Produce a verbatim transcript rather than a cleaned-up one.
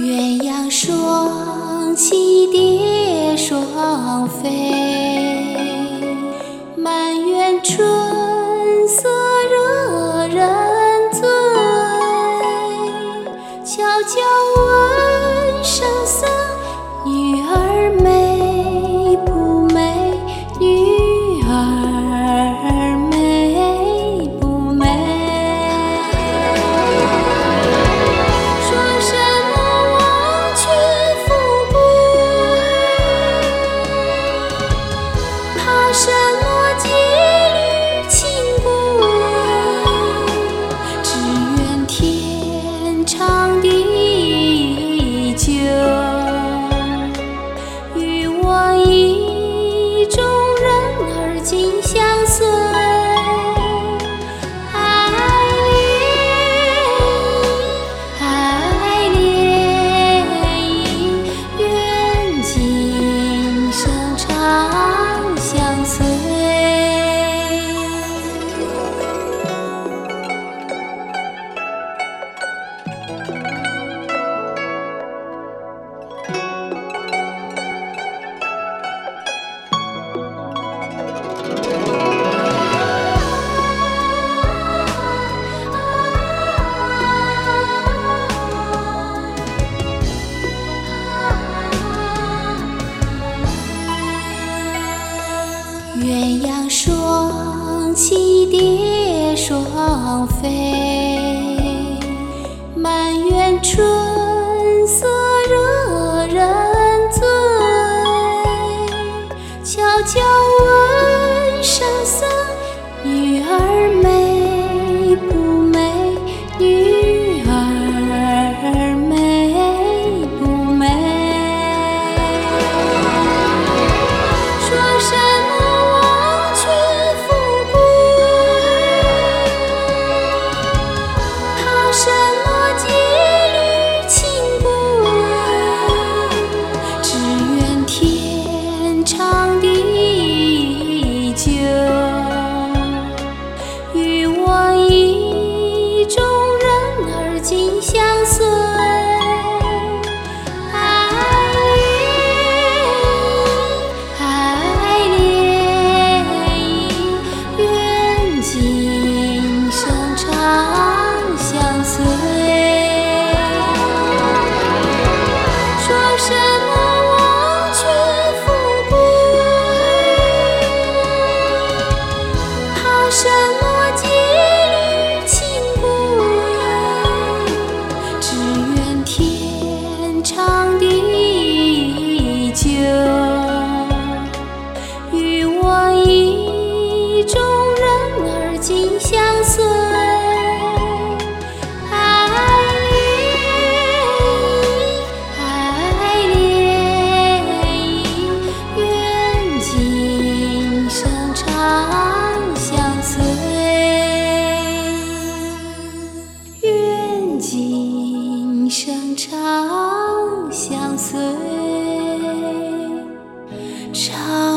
鸳鸯双栖蝶双飞，满园春色惹人醉。悄悄问圣僧，女儿美不美？女儿美不美？说什么忘却富贵，怕什么羁旅情归？只愿天长地久，与我意中人儿紧相随。爱恋意，愿今生长相随。鸳鸯双栖蝶双飞，满园春色惹人醉。悄悄问圣僧，女儿美不美？女儿美不美？说什么忘却富贵，怕什么羁旅情归？只愿天长地久，与我意中人儿紧相随。爱恋意，愿今生长相随。说什么忘却富贵，怕什么羁旅情归？只愿天长地久，与我意中人儿紧相随。爱恋意，愿今生长相随。愿今生长相随。长